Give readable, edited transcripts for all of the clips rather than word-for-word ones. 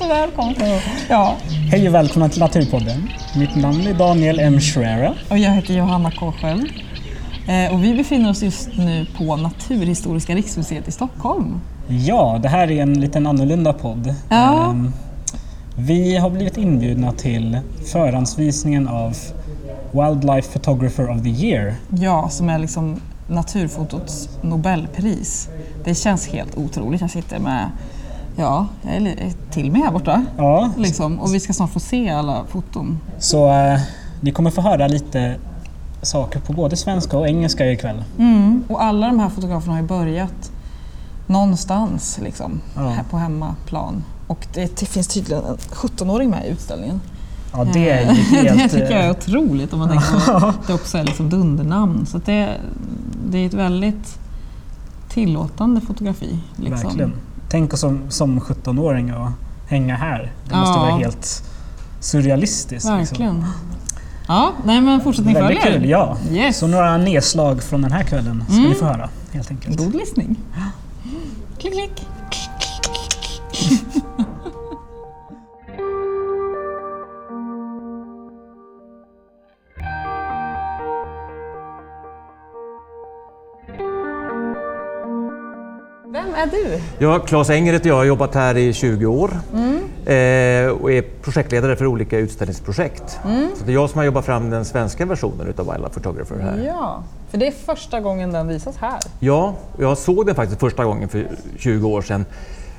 Välkommen. Ja. Hej och välkomna till Naturpodden. Mitt namn är Daniel M. Schreira. Och jag heter Johanna Kåsköld. Och vi befinner oss just nu på Naturhistoriska riksmuseet i Stockholm. Ja, det här är en liten annorlunda podd. Ja. Vi har blivit inbjudna till förhandsvisningen av Wildlife Photographer of the Year. Ja, som är liksom naturfotots Nobelpris. Det känns helt otroligt. Jag sitter med, jag är till mig här borta. Ja. Liksom. Och vi ska snart få se alla foton. Så ni kommer få höra lite saker på både svenska och engelska ikväll. Och alla de här fotograferna har ju börjat någonstans liksom, här på hemmaplan. Och det finns tydligen en 17-åring med i utställningen. Ja, det är ju helt... Det tycker jag är otroligt om man tänker att det också är liksom dundernamn. Så att det är ett väldigt tillåtande fotografi. Liksom. Verkligen. Tänk oss som 17-åring att hänga här. Det måste vara helt surrealistiskt. Verkligen. Liksom. Ja, nej men fortsättning följer. Väldigt kul, ja. Yes. Så några nedslag från den här kvällen ska ni få höra, helt enkelt. God lyssning. Klick, klick. Vem är du? Ja, Claes Enger heter jag. Har jobbat här i 20 år och är projektledare för olika utställningsprojekt. Så det är jag som har jobbat fram den svenska versionen av Wildlife Photographer här. Ja, för det är första gången den visas här. Ja, jag såg den faktiskt första gången för 20 år sedan.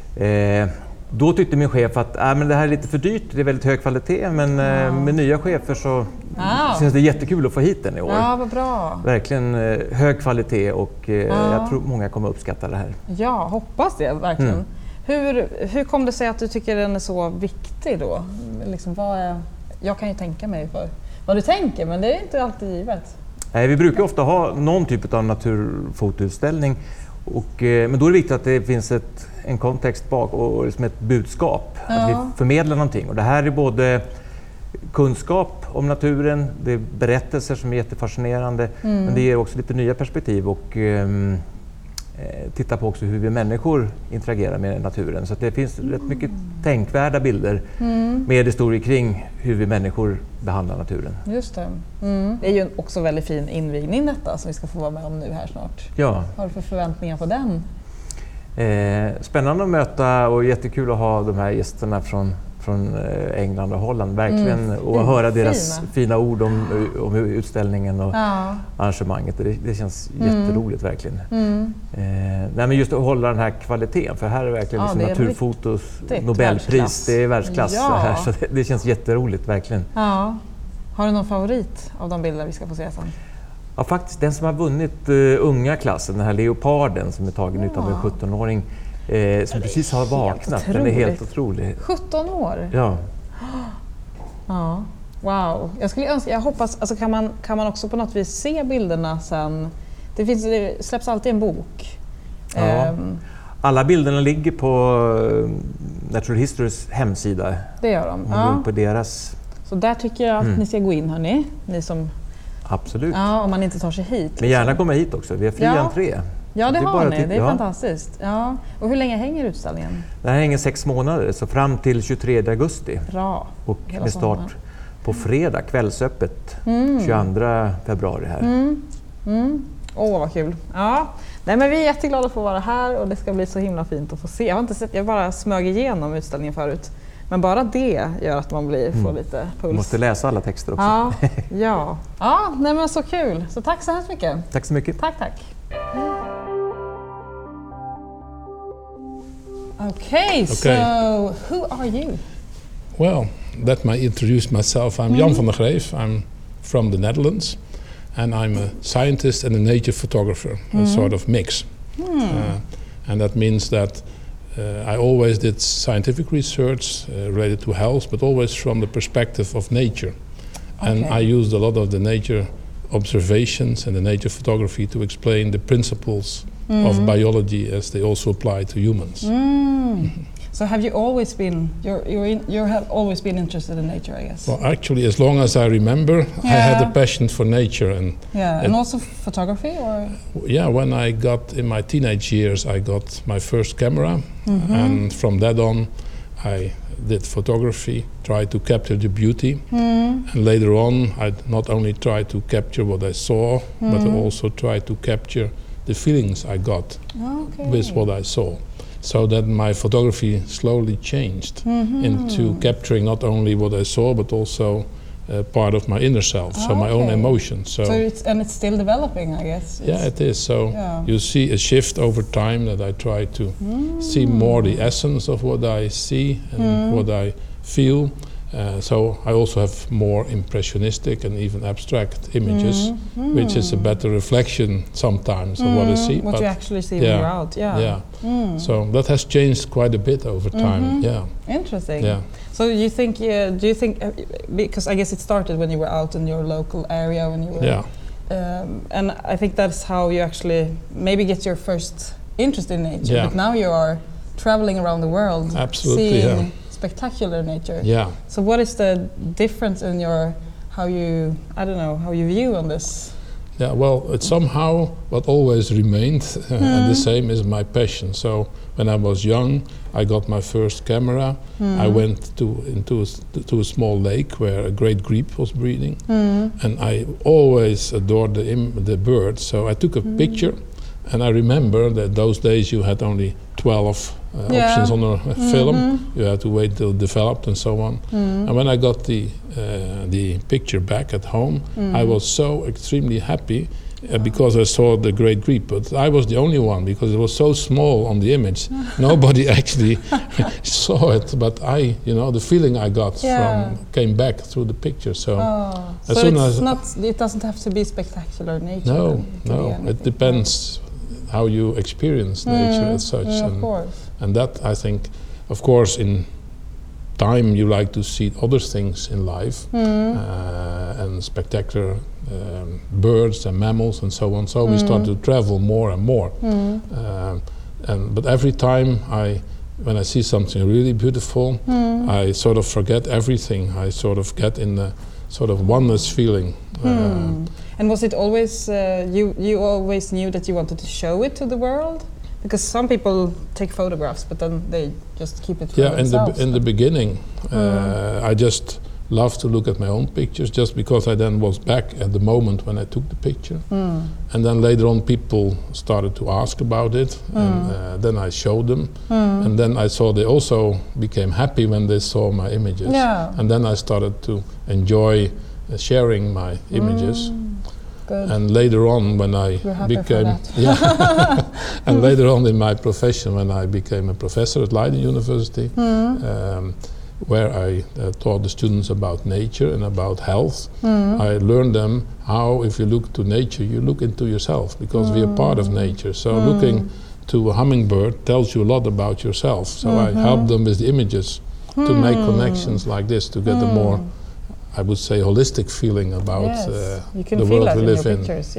Då tyckte min chef att men det här är lite för dyrt, det är väldigt hög kvalitet, men med nya chefer så känns det jättekul att få hit den i år. Ja, vad bra. Verkligen hög kvalitet och jag tror många kommer uppskatta det här. Ja, hoppas det verkligen. Hur kom det sig att du tycker den är så viktig då? Liksom, jag kan ju tänka mig för vad du tänker, men det är inte alltid givet. Vi brukar ofta ha någon typ av naturfotoutställning, men då är det viktigt att det finns en kontext bak och liksom ett budskap, att vi förmedlar någonting. Och det här är både kunskap om naturen, det är berättelser som är jättefascinerande, men det ger också lite nya perspektiv och titta på också hur vi människor interagerar med naturen. Så att det finns rätt mycket tänkvärda bilder med historier kring hur vi människor behandlar naturen. Just det. Det är ju också väldigt fin invigning detta som vi ska få vara med om nu här snart. Ja. Vad har du för förväntningar på den? Spännande att möta och jättekul att ha de här gästerna från England och Holland, verkligen, och höra deras fina ord om utställningen och arrangemanget. Det känns jätteroligt, verkligen. Nej, men just att hålla den här kvaliteten, för här är verkligen liksom naturfotos Nobelpris, det är världsklass här, så det känns jätteroligt, verkligen. Ja. Har du någon favorit av de bilder vi ska få se sen? Ja, faktiskt den som har vunnit unga klassen, den här leoparden som är tagen utav en 17-åring som precis har vaknat. Den är helt otrolig. 17 år? Ja. Ja. Wow. Jag hoppas, alltså kan man också på något vis se bilderna sen? Det släpps alltid en bok. Ja. Alla bilderna ligger på Natural Historys hemsida. Det gör de. På deras. Så där tycker jag att ni ska gå in, hörni. Ni som... Absolut. Ja, om man inte tar sig hit. Liksom. Men gärna komma hit också. Vi har fri entré. Ja, det har ni. Det är fantastiskt. Ja. Och hur länge hänger utställningen? Den här hänger 6 månader, så fram till 23 augusti. Bra. Och med start på fredag, kvällsöppet, 22 februari här. Vad kul. Ja. Nej, men vi är jätteglada att få vara här och det ska bli så himla fint att få se. Jag har inte sett, jag bara smög igenom utställningen förut. Men bara det gör att man får lite puls. Måste läsa alla texter också. Ja, nej men så kul. Så tack så hemskt mycket. Tack så mycket. Tack. Okay, so who are you? Well, let me introduce myself. I'm Jan van der Greef. I'm from the Netherlands. And I'm a scientist and a nature photographer, a sort of mix. And that means that I always did scientific research related to health, but always from the perspective of nature. And I used a lot of the nature observations and the nature photography to explain the principles of biology as they also apply to humans. So have you always been, you have always been interested in nature, I guess? Well, actually, as long as I remember, I had a passion for nature. And also photography? Or? Yeah, when I got in my teenage years, I got my first camera. And from that on, I did photography, tried to capture the beauty, and later on I not only tried to capture what I saw, but I also tried to capture the feelings I got with what I saw. So that my photography slowly changed into capturing not only what I saw, but also part of my inner self, so my own emotions. So it's still developing, I guess. Yeah, it is. So you see a shift over time that I try to see more the essence of what I see and what I feel. So I also have more impressionistic and even abstract images, which is a better reflection sometimes of what I see. What you actually see when you're out, So that has changed quite a bit over time. Yeah. Interesting. Yeah. So do you think, because I guess it started when you were out in your local area when you were, and I think that's how you actually maybe get your first interest in nature. Yeah. But now you are traveling around the world, seeing spectacular nature. Yeah. So what is the difference in your how you view on this? Yeah, well, it somehow what always remained and the same is my passion. So when I was young, I got my first camera. I went to a small lake where a great grebe was breeding, and I always adored the birds. So I took a picture, and I remember that those days you had only 12 options on a film. You had to wait till it developed and so on. And when I got the picture back at home, I was so extremely happy because I saw the great grebe. But I was the only one because it was so small on the image. Nobody actually saw it. But the feeling I got came back through the picture. So it doesn't have to be spectacular nature. No, it depends how you experience nature as such. Of course. And that, I think, of course, in time you like to see other things in life and spectacular birds and mammals and so on. So we start to travel more and more. But every time when I see something really beautiful, I sort of forget everything. I sort of get in the sort of oneness feeling. And was it always, you always knew that you wanted to show it to the world? Because some people take photographs, but then they just keep it for themselves. In the beginning, I just loved to look at my own pictures, just because I then was back at the moment when I took the picture. And then later on people started to ask about it, and then I showed them. And then I saw they also became happy when they saw my images. And then I started to enjoy sharing my images. Good. And later on, when I became, and later on in my profession, when I became a professor at Leiden University, where I taught the students about nature and about health, I learned them how, if you look to nature, you look into yourself, because we are part of nature. So looking to a hummingbird tells you a lot about yourself. So I help them with the images to make connections like this, to get a more, I would say, holistic feeling about the world we live in. Pictures,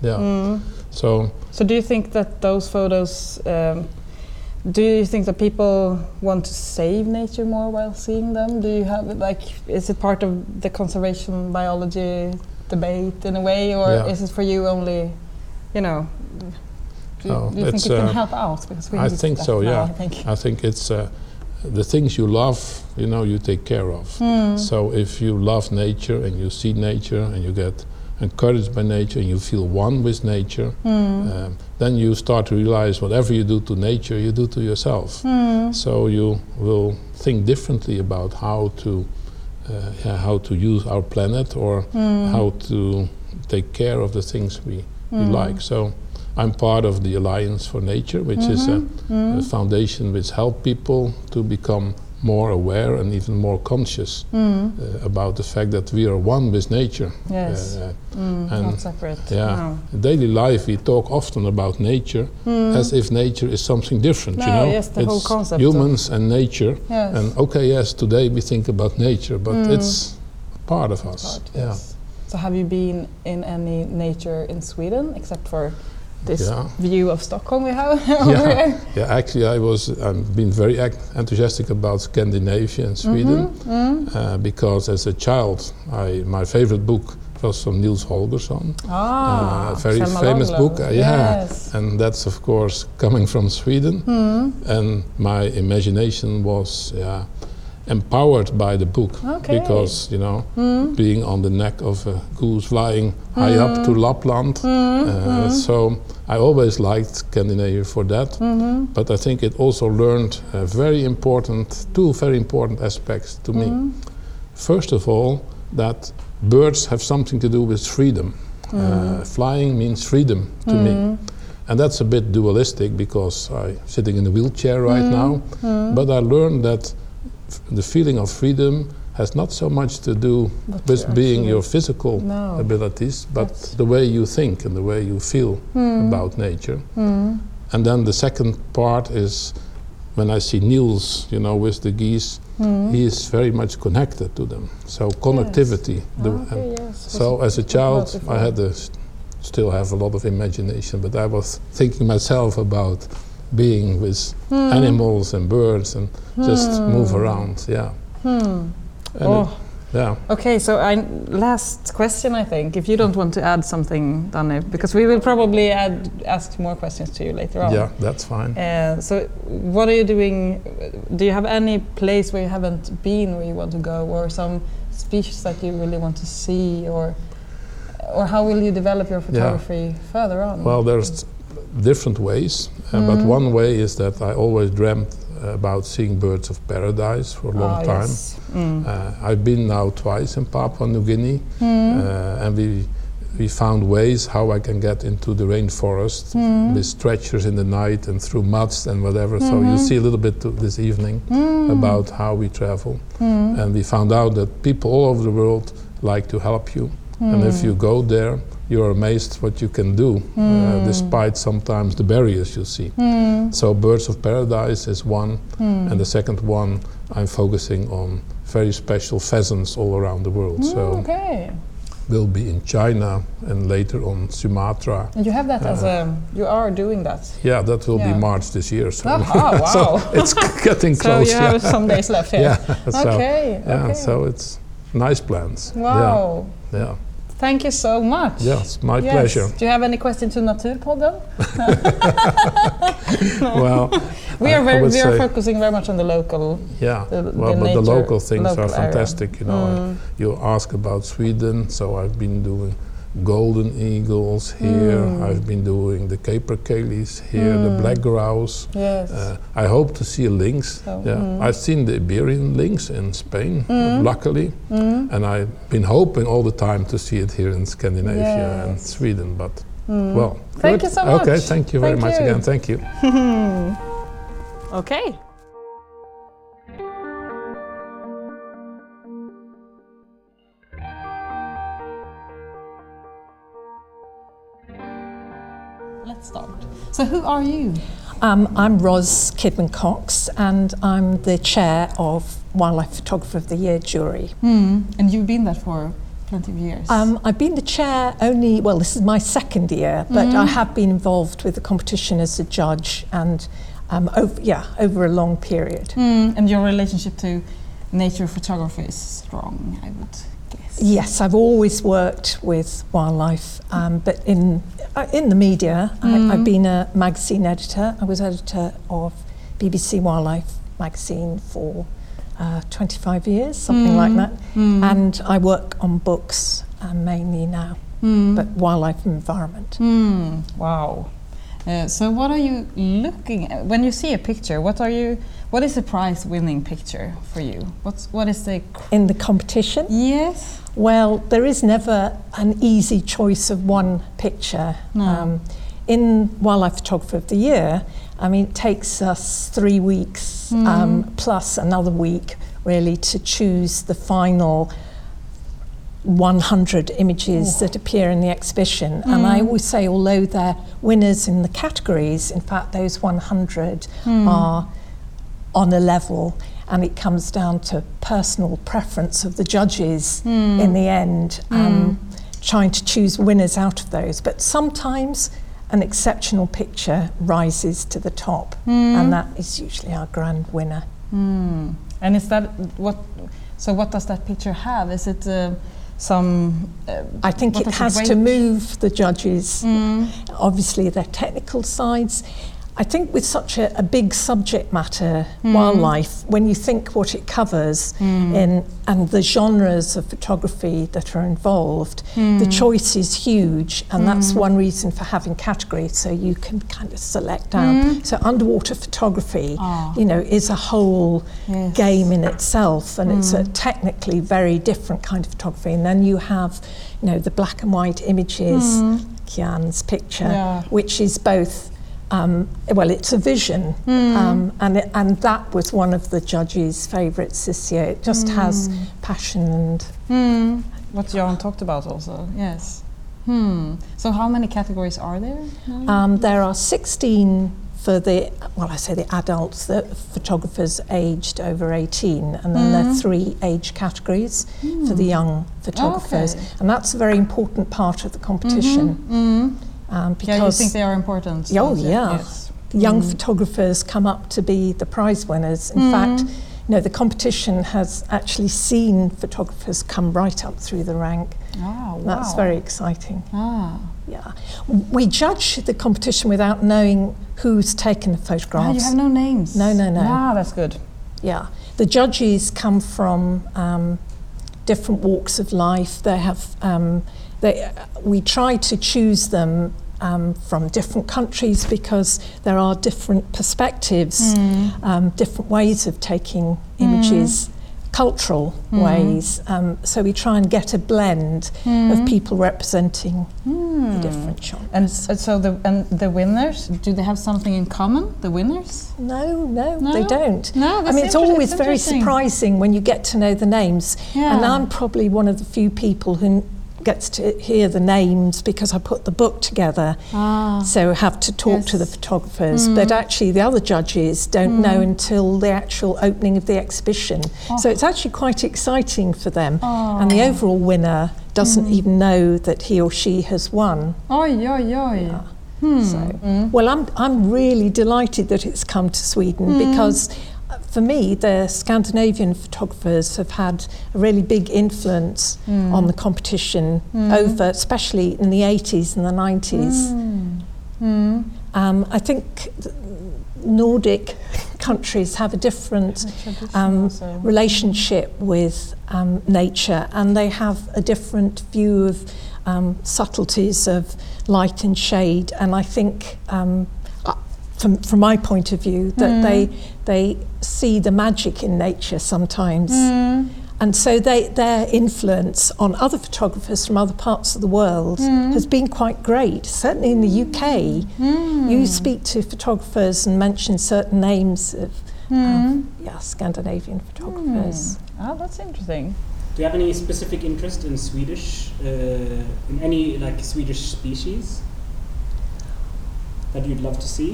So do you think that those photos, do you think that people want to save nature more while seeing them? Do you have, is it part of the conservation biology debate in a way, or is it for you only, do you think it can help out? Because I think so, I think it's the things you love, you take care of. So if you love nature and you see nature and you get encouraged by nature and you feel one with nature, then you start to realize whatever you do to nature, you do to yourself. So you will think differently about how to use our planet, or how to take care of the things we like. So I'm part of the Alliance for Nature, which is a foundation which helps people to become more aware and even more conscious about the fact that we are one with nature. Yes, and not separate. In daily life we talk often about nature as if nature is something different. Yes, the whole concept. Humans and nature. Yes. And today we think about nature, but it's part of us. So have you been in any nature in Sweden, except for this view of Stockholm we have over here? Yeah, actually I've been very enthusiastic about Scandinavia and Sweden, because as a child my favorite book was from Nils Holgersson, a very famous book. And that's of course coming from Sweden, and my imagination was empowered by the book because being on the neck of a goose flying high up to Lapland, so I always liked Scandinavia for that. But I think it also learned two very important aspects to me. First of all, that birds have something to do with freedom. Flying means freedom to me. And that's a bit dualistic because I'm sitting in a wheelchair right now. But I learned that the feeling of freedom has not so much to do with being your physical abilities, but the way you think and the way you feel about nature. And then the second part is when I see Niels, with the geese, he is very much connected to them. So connectivity. So as a child, I had still have a lot of imagination, but I was thinking myself about being with animals and birds and just move around. Okay, so last question, I think, if you don't want to add something, Danny, because we will probably ask more questions to you later on. Yeah, that's fine. So what are you doing? Do you have any place where you haven't been where you want to go, or some species that you really want to see, or how will you develop your photography further on? Well, there's different ways, but one way is that I always dreamt about seeing birds of paradise for a long time. I've been now twice in Papua New Guinea, and we found ways how I can get into the rainforest with stretchers in the night and through muds and whatever. So you see a little bit this evening about how we travel. And we found out that people all over the world like to help you. And if you go there, you're amazed what you can do, despite sometimes the barriers you see. So Birds of Paradise is one, and the second one I'm focusing on very special pheasants all around the world. So we'll be in China and later on Sumatra. And you have that you are doing that? Yeah, that will be March this year. So, wow. So it's getting close. So you have some days left here. So it's nice plans. Wow. Yeah. Thank you so much. Yes, my pleasure. Do you have any question to Naturpodden? Well, we are focusing very much on the local. But the local things are fantastic. You ask about Sweden, so I've been doing golden eagles here. I've been doing the capercaillies here, the black grouse. Yes. I hope to see a lynx. I've seen the Iberian lynx in Spain, luckily, and I've been hoping all the time to see it here in Scandinavia and Sweden. But well, thank you so much. Okay, thank you very much again. Thank you. Okay. Let's start. So who are you? I'm Ros Kidman-Cox, and I'm the chair of Wildlife Photographer of the Year jury. And you've been that for plenty of years. I've been the chair this is my second year, but I have been involved with the competition as a judge and over a long period. And your relationship to nature photography is strong, I would guess. Yes, I've always worked with wildlife, but in the media. I've been a magazine editor. I was editor of BBC Wildlife magazine for 25 years, something like that. And I work on books mainly now, but wildlife and environment. Wow. So what are you looking at? When you see a picture, what is a prize-winning picture for you? What is the... In the competition? Yes. Well, there is never an easy choice of one picture. No. In Wildlife Photographer of the Year, it takes us 3 weeks plus another week really to choose the final 100 images that appear in the exhibition. And I always say, although they're winners in the categories, in fact those 100 are on a level, and it comes down to personal preference of the judges in the end, trying to choose winners out of those. But sometimes an exceptional picture rises to the top, and that is usually our grand winner. And is that what does that picture have? Is it I think it has to move the judges. Obviously their technical sides. I think with such a big subject matter, wildlife, when you think what it covers and the genres of photography that are involved, the choice is huge, and that's one reason for having categories, so you can kind of select down. So underwater photography, is a whole game in itself, and it's a technically very different kind of photography. And then you have, the black and white images, Kian's picture, which is both. It's a vision, and that was one of the judges' favourites this year. It just has passion and what Jan talked about also. Yes. So how many categories are there now? There are 16 for the adults, the photographers aged over 18, and then there are 3 age categories for the young photographers, and that's a very important part of the competition. Because you think they are important? Oh, yeah. Yes. Young photographers come up to be the prize winners. In fact, the competition has actually seen photographers come right up through the rank. Oh, wow. That's very exciting. Yeah. We judge the competition without knowing who's taken the photographs. You have no names? No. Ah, that's good. Yeah. The judges come from different walks of life. They have... we try to choose them from different countries because there are different perspectives, different ways of taking images, cultural ways. So we try and get a blend of people representing the different genres. And so the winners, do they have something in common, the winners? No, they don't. No, that's it's always very surprising when you get to know the names. Yeah. And I'm probably one of the few people who gets to hear the names because I put the book together, so have to talk to the photographers, but actually the other judges don't know until the actual opening of the exhibition. So it's actually quite exciting for them, and the overall winner doesn't even know that he or she has won. Well, I'm really delighted that it's come to Sweden because for me, the Scandinavian photographers have had a really big influence on the competition over, especially in the 80s and the 90s. I think Nordic countries have a different relationship with nature, and they have a different view of subtleties of light and shade, and I think from my point of view, that they see the magic in nature sometimes. And so their influence on other photographers from other parts of the world has been quite great. Certainly in the UK, you speak to photographers and mention certain names of Scandinavian photographers. Oh, that's interesting. Do you have any specific interest in Swedish, in any Swedish species that you'd love to see?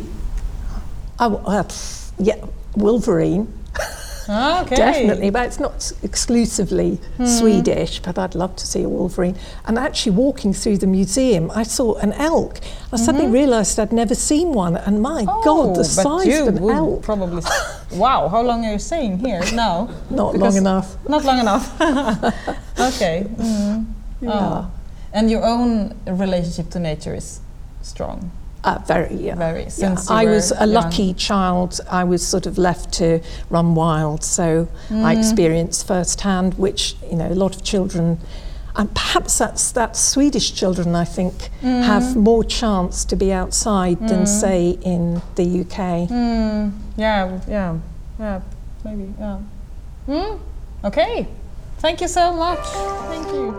Wolverine. Okay. Definitely, but it's not exclusively Swedish, but I'd love to see a wolverine. And actually walking through the museum, I saw an elk. I suddenly realised I'd never seen one, and my God, the size of an elk. Probably. Wow, how long are you staying here now? Not long enough. Not long enough. Okay. And your own relationship to nature is strong. Very. Since I was a lucky child. I was sort of left to run wild, so I experienced firsthand, which a lot of children, and perhaps that's Swedish children, I think, have more chance to be outside than say in the UK. Yeah, maybe. Okay, thank you so much. Thank you.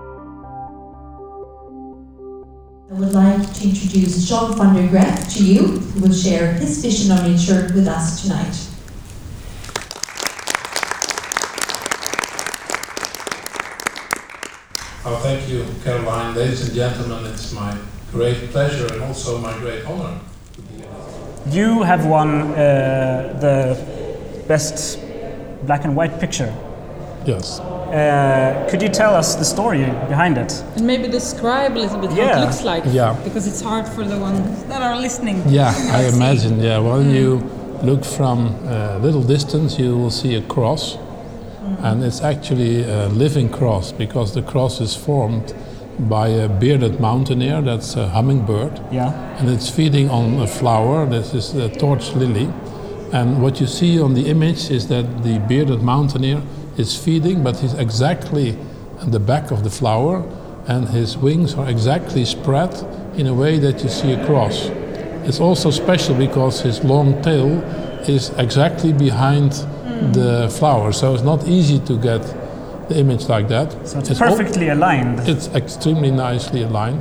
I would like to introduce John van der Graaf to you, who will share his vision on nature with us tonight. Oh, thank you, Caroline. Ladies and gentlemen, it's my great pleasure and also my great honor to be here. You have won the best black and white picture. Yes. Could you tell us the story behind it? And maybe describe a little bit how it looks like. Yeah. Because it's hard for the ones that are listening. Yeah, I imagine. Yeah, when you look from a little distance, you will see a cross, and it's actually a living cross because the cross is formed by a bearded mountaineer, that's a hummingbird. Yeah. And it's feeding on a flower, this is the torch lily. And what you see on the image is that the bearded mountaineer is feeding, but he's exactly at the back of the flower, and his wings are exactly spread in a way that you see a cross. It's also special because his long tail is exactly behind the flower, so it's not easy to get the image like that. So it's perfectly aligned. It's extremely nicely aligned.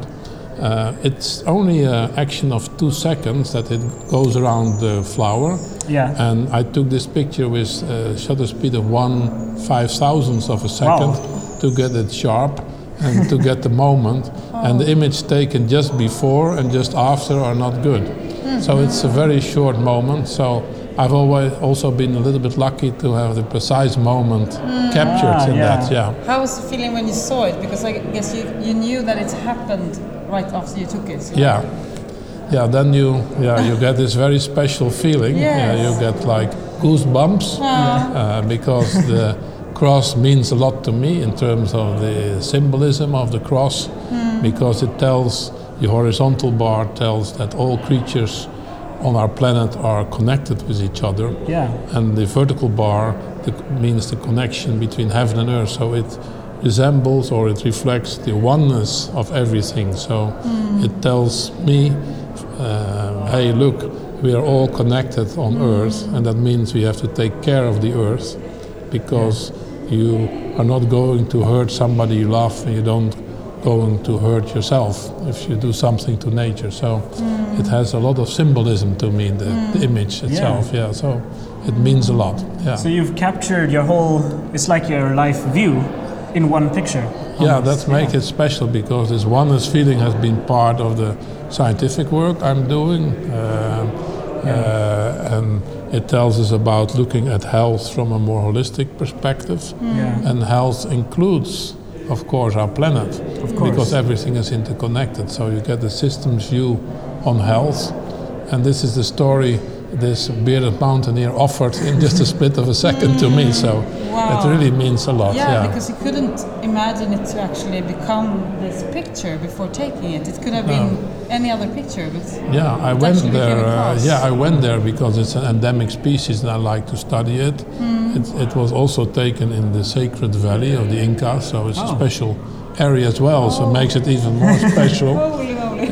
It's only an action of 2 seconds that it goes around the flower. Yeah. And I took this picture with a shutter speed of 1/5000th of a second to get it sharp and to get the moment. And the image taken just before and just after are not good. So it's a very short moment. So I've always also been a little bit lucky to have the precise moment captured in that. Yeah. How was the feeling when you saw it? Because I guess you knew that it happened right after you took it. So. Yeah. Yeah, then you get this very special feeling. Yes. Yeah, you get like goosebumps because the cross means a lot to me in terms of the symbolism of the cross, because it tells, the horizontal bar tells that all creatures on our planet are connected with each other. Yeah. And the vertical bar means the connection between heaven and earth. So it resembles or it reflects the oneness of everything. So it tells me, hey, look, we are all connected on earth, and that means we have to take care of the earth, because you are not going to hurt somebody you love, and you don't going to hurt yourself if you do something to nature. So it has a lot of symbolism to me, the image itself. Yeah, so it means a lot. Yeah. So you've captured your whole, it's like your life view in one picture. Yeah, that makes it special, because this oneness feeling has been part of the scientific work I'm doing. And it tells us about looking at health from a more holistic perspective. And health includes, of course, our planet, because everything is interconnected. So you get the systems view on health, and this is the story this bearded mountaineer offered in just a split of a second to me. So it really means a lot. Yeah, because you couldn't imagine it to actually become this picture before taking it. It could have been any other picture, but I went there. I went there because it's an endemic species, and I like to study it. It was also taken in the Sacred Valley of the Incas, so it's a special area as well. So it makes it even more special. Holy.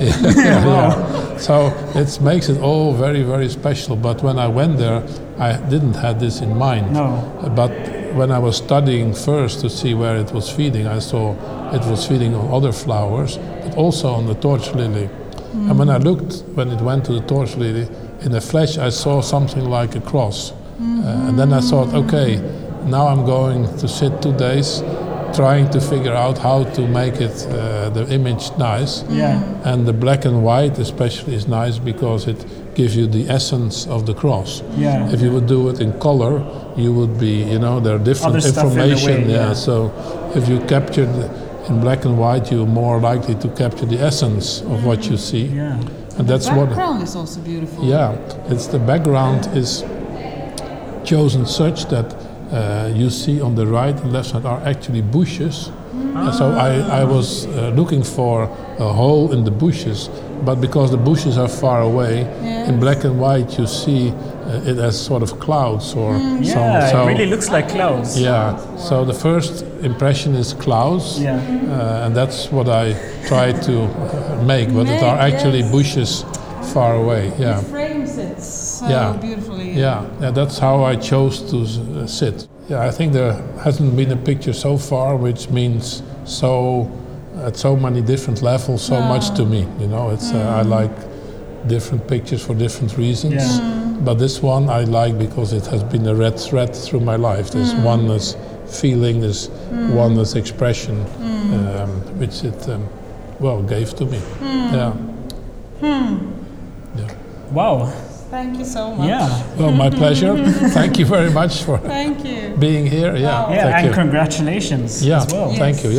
So it makes it all very, very special. But when I went there, I didn't have this in mind. No. But when I was studying first to see where it was feeding, I saw it was feeding on other flowers, but also on the torch lily. And when I looked, when it went to the torch lily, in the flesh I saw something like a cross. And then I thought, okay, now I'm going to sit 2 days trying to figure out how to make it, the image nice. And the black and white especially is nice because it gives you the essence of the cross. If you would do it in color, you would be, there are different information. So if you captured in black and white, you're more likely to capture the essence of what you see. And that's the background is also beautiful. It's the background is chosen such that you see on the right and left side are actually bushes. So I was looking for a hole in the bushes, but because the bushes are far away, in black and white you see it as sort of clouds or it really looks like clouds. So the first impression is clouds, and that's what I try to make, but it are actually bushes far away. It frames it so beautifully. That's how I chose to sit. I think there hasn't been a picture so far which means so at so many different levels so much to me. It's I like different pictures for different reasons, but this one I like because it has been a red thread through my life. This oneness feeling, this oneness expression, which it gave to me. Wow. Thank you so much. Well, my pleasure. Thank you very much for being here. And congratulations as well. Thank you.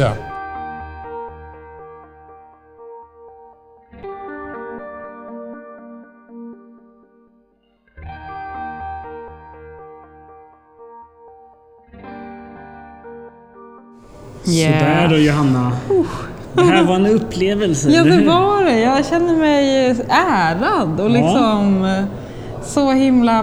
Sådär då, Johanna. Det här var en upplevelse. Ja, det var det. Jag känner mig ärad och liksom så himla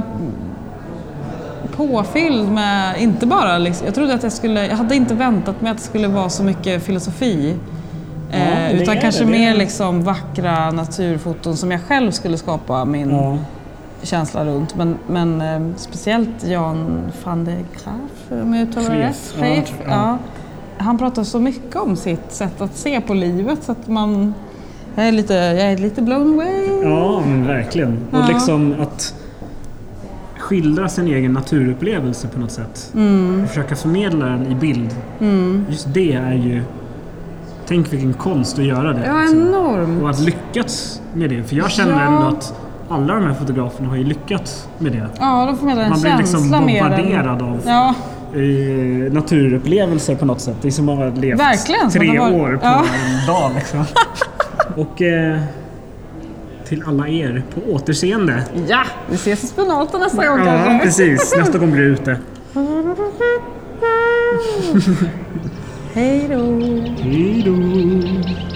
påfylld med, inte bara liksom, jag trodde att jag hade inte väntat mig att det skulle vara så mycket filosofi. Utan kanske mer liksom vackra naturfoton som jag själv skulle skapa min känsla runt. Men speciellt Jan van de Graaf, om jag uttalar det rätt. Han pratar så mycket om sitt sätt att se på livet så att jag är lite blown away. Ja, men verkligen. Och liksom att skildra sin egen naturupplevelse på något sätt. Och försöka förmedla den i bild. Just det är ju... Tänk vilken konst att göra det. Ja, enormt. Och att lyckas med det. För jag känner ändå att alla de här fotograferna har ju lyckats med det. Ja, de förmedlar en man blir liksom bombarderad av naturupplevelser på något sätt. Det är som att ha levt 3 år på en dag liksom. Och till alla er på återseende. Ja, vi ses i Spenaten nästa gång. Ja, precis. Nästa gång blir det ute. Hej då. Hej då.